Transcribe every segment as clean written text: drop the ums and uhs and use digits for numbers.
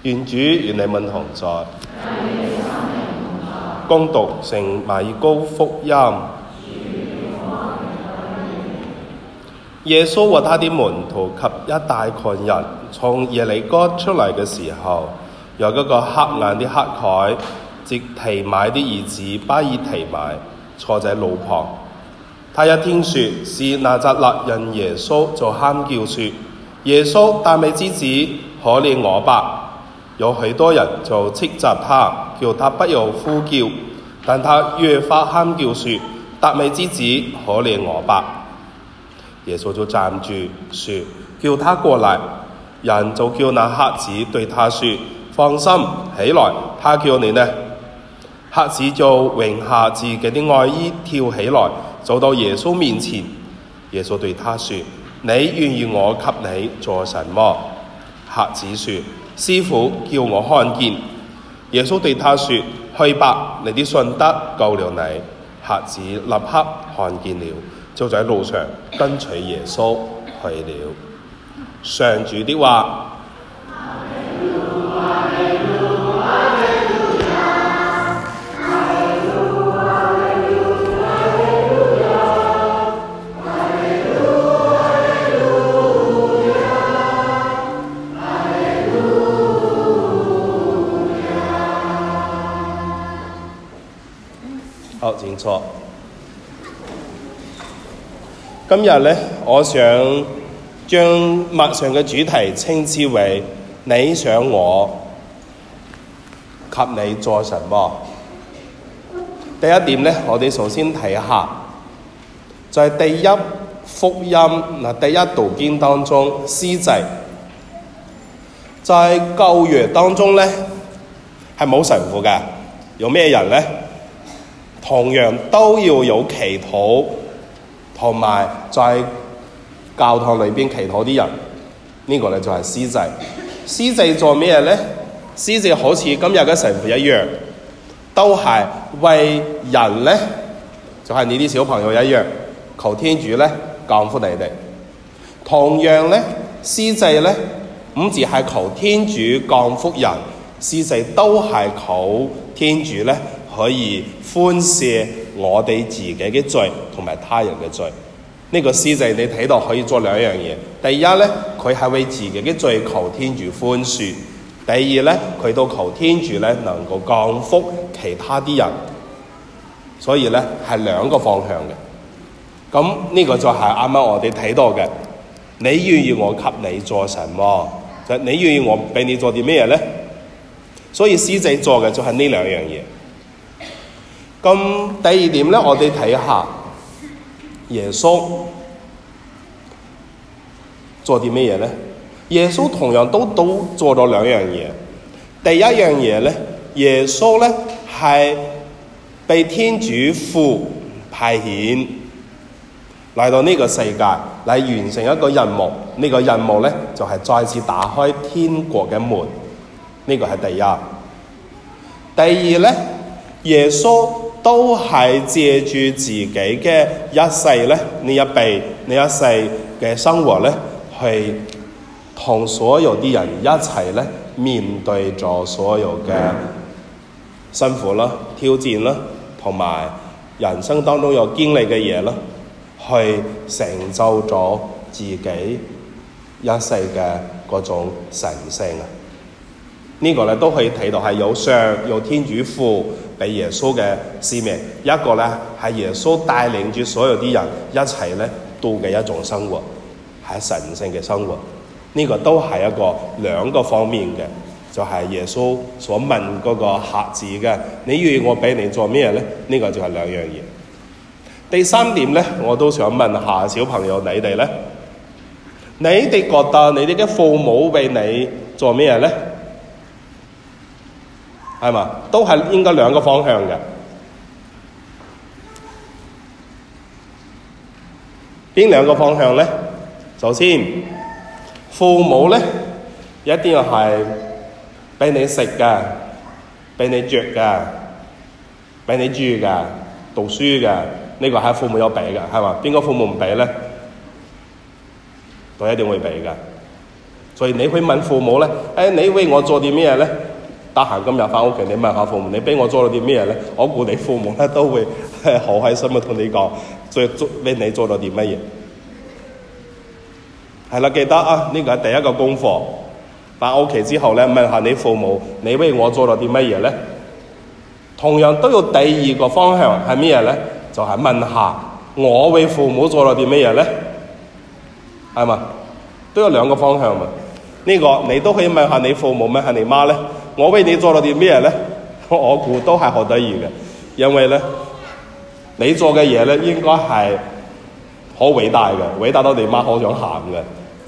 願主與你們同在。恭讀聖馬爾谷福音。耶穌和他的門徒及一大群人從耶利哥出來嘅時候，有一個瞎眼的乞丐，即提買的兒子巴爾提買，坐在路旁。他一聽說是拿撒勒人耶穌，就喊叫說：耶穌，達味之子，可憐我吧！有許多人就斥責他，叫他不要呼叫，但他越發喊叫說：達味之子，可憐我吧！耶穌就站住說：叫他過來。人就叫那瞎子對他說：放心，起來，他叫你呢。瞎子就扔下自己的外衣，跳起來，走到耶穌面前。耶穌對他說：你願意我給你做什麼？瞎子說：師傅，叫我看見。耶穌對他說：去吧，你的信德救了你。瞎子立刻看見了，就在路上跟隨耶穌去了。上主的話。好，請坐。今日呢，我想將默想嘅主題稱之為你想我給你做什麼？第一點呢，我哋首先睇下，在第一福音第一讀經當中，司祭在舊約當中呢係冇神父嘅，有咩人呢？同樣都要有祈禱，同埋在教堂裏邊祈禱啲人，呢個咧就係司祭。司祭做咩咧？司祭好似今日嘅神父一樣，都係為人咧，就係你啲小朋友一樣，求天主咧降福你哋。同樣咧，司祭咧唔止係求天主降福人，司祭都係求天主咧可以寬赦我哋自己嘅罪同埋他人嘅罪。呢個司祭你睇到可以做兩樣嘢。第一咧，佢係為自己嘅罪求天主寬恕；第二咧，佢都求天主咧能夠降福其他啲人。所以咧係兩個方向嘅。咁呢個就係啱啱我哋睇到嘅。你願意我給你做什麼？就你願意我俾你做啲咩咧？所以司祭做嘅就係呢兩樣嘢。咁第二點咧，我哋睇下耶穌做啲咩嘢咧？耶穌同樣都做咗兩樣嘢。第一樣嘢咧，耶穌咧係被天主父派遣嚟到呢個世界嚟完成一個任務。呢個任務咧就係再次打開天國嘅門。呢個係第一。第二咧，耶穌都係借住自己嘅一世咧，呢一世嘅生活咧，去同所有啲人一齊咧面對咗所有嘅辛苦啦、挑戰啦，同埋人生當中有經歷嘅嘢啦，去成就咗自己一世嘅嗰種神聖啊！呢個咧都可以睇到係有天主父俾耶穌嘅使命，一個咧係耶穌帶領住所有啲人一齊咧度嘅一種生活，係神聖嘅生活。呢個都係一個兩個方面嘅，就係耶穌所問嗰個瞎子嘅，你願意我俾你做咩咧？呢個就係兩樣嘢。第三點咧，我都想問下小朋友你哋咧，你哋覺得你哋嘅父母俾你做咩咧？係嘛？都係應該兩個方向嘅。邊兩個方向咧？首先，父母咧一定係俾你食嘅，俾你着嘅，俾你住嘅，讀書嘅。呢個係父母有俾嘅，係嘛？邊個父母唔俾咧？都一定會俾嘅。 所以你會問父母咧，你為我做啲咩咧？得閒今日翻屋企，你問下父母，你俾我做咗啲咩咧？我估你父母咧都會好開心嘅同你講，為你做咗啲乜嘢。係啦，記得啊，呢個係第一個功課。翻屋企之後咧，問下你父母，你為我做咗啲乜嘢咧？同樣都有第二個方向係咩嘢咧？就係問下我為父母做咗啲乜嘢咧？係嘛？都有兩個方向嘛。呢個你都可以問下你父母，問下你媽咧。我為你做咗啲咩咧？我估都係好得意嘅，因為咧你做嘅嘢咧應該係好偉大嘅，偉大到你媽好想喊嘅。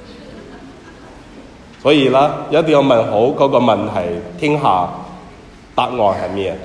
所以啦，一定要問好嗰個問題，聽下答案係咩？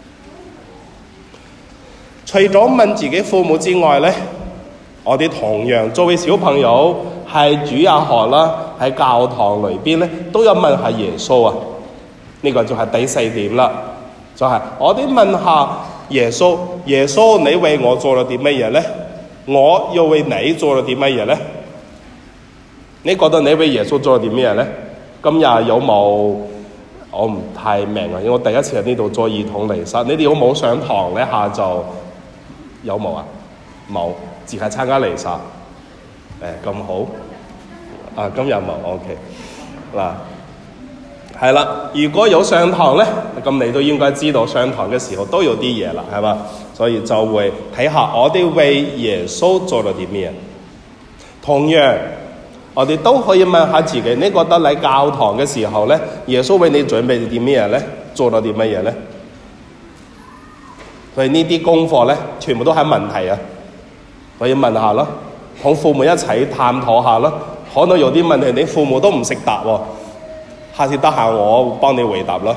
除咗問自己父母之外咧，我哋同樣作為小朋友喺主日學啦，喺教堂裏邊咧，都有問下耶穌啊。呢個就係第四點啦，就係我哋問下耶穌，耶穌你為我做咗啲乜嘢咧？我又為你做咗啲乜嘢咧？你覺得你為耶穌做咗啲咩咧？今日有冇？我唔太明啊，因為我第一次喺呢度做兒童彌撒，你哋有冇上堂咧？下晝有冇啊？冇，只係參加彌撒。咁好啊！今日冇 OK 嗱。係啦，如果有上堂咧，咁你都應該知道上堂嘅時候都有啲嘢啦，係嘛？所以就會睇下我哋為耶穌做咗啲咩。同樣，我哋都可以問下自己，你覺得嚟教堂嘅時候咧，耶穌為你準備啲咩咧？做咗啲乜嘢咧？所以呢啲功課咧，全部都係問題啊！可以問下咯，同父母一齊探討下咯。可能有啲問題你父母都唔識答喎。下次得閒我幫你回答咯。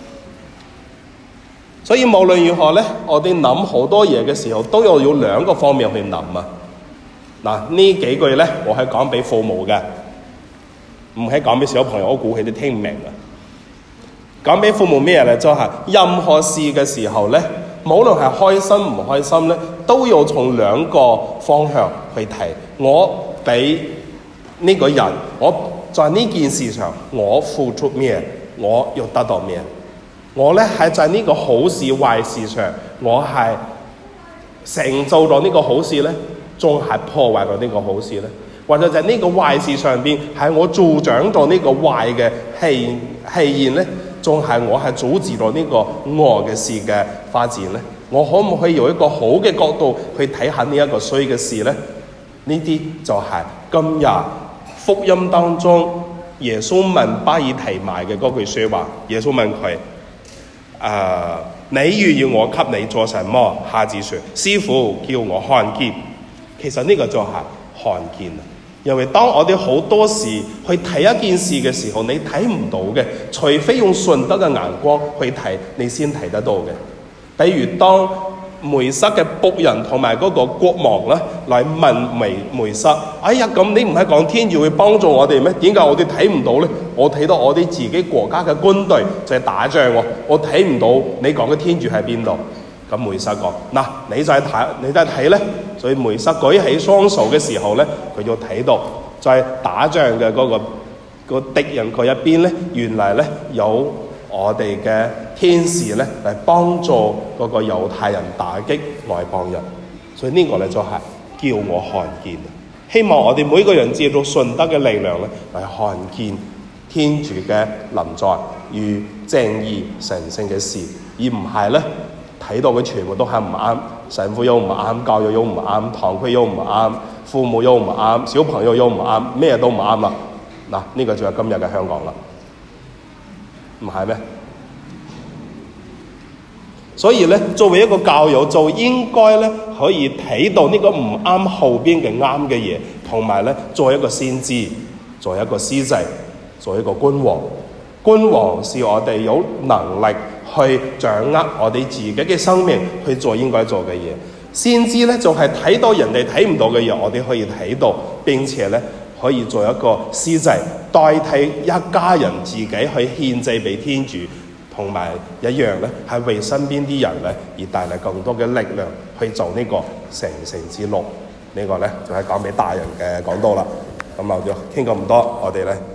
所以無論如何咧，我哋諗好多嘢嘅時候，都要有兩個方面去諗啊。嗱，呢幾句咧，我係講俾父母嘅，唔係講俾小朋友，我估佢哋聽唔明啊。講俾父母咩咧？就係任何事嘅時候咧，無論係開心唔開心咧，都要從兩個方向去睇。我俾呢個人，我在呢件事上，我付出咩？我要得到咩？我咧係在呢個好事壞事上，我係成就咗呢個好事咧，仲係破壞咗呢個好事咧？或者就係呢個壞事上邊，係我助長咗呢個壞嘅氣焰咧，仲係我係阻止咗呢個惡嘅事嘅發展咧？我可唔可以用一個好嘅角度去睇下呢一個衰嘅事咧？呢啲就係今日福音當中耶穌問巴爾提買嘅嗰句說話。耶穌問佢：你願意我給你做什麼？瞎子說：師傅叫我看見。其實呢個就係看見啊！因為當我哋好多時去睇一件事嘅時候，你睇唔到嘅，除非用順德嘅眼光去睇，你先睇得到嘅。比如當梅瑟嘅僕人同埋嗰個國王咧嚟問梅瑟：哎呀，咁你唔係講天主會幫助我哋咩？點解我哋睇唔到咧？我睇到我哋自己國家嘅軍隊就係打仗喎，我睇唔到你講嘅天主喺邊度。咁梅瑟講：嗱，你就係睇咧。所以梅瑟舉起雙手嘅時候咧，佢就睇到就係打仗嘅嗰個敵人嗰一邊咧，原來咧有我哋嘅天使咧嚟幫助嗰個猶太人打擊外邦人。所以呢個咧就係叫我看見。希望我哋每個人借助順德嘅力量咧嚟看見天主嘅臨在與正義神聖嘅事，而唔係咧睇到佢全部都係唔啱，神父又唔啱，教育又唔啱，堂區又唔啱，父母又唔啱，小朋友又唔啱，咩都唔啱啦。嗱，呢個就係今日嘅香港啦，唔係咩？所以咧，作為一個教友，就應該咧可以睇到呢個唔啱後邊嘅啱嘅嘢，同埋咧做一個先知，做一個司祭，做一個君王。君王是我哋有能力去掌握我哋自己嘅生命，去做應該做嘅嘢。先知咧就係睇到人哋睇唔到嘅嘢，我哋可以睇到，並且咧可以做一個司祭，代替一家人自己去獻祭俾天主，同埋一樣咧係為身邊啲人咧而帶嚟更多嘅力量去做呢個成聖之路。呢個咧就係講俾大人嘅講道啦。咁我就傾咁多，我哋咧。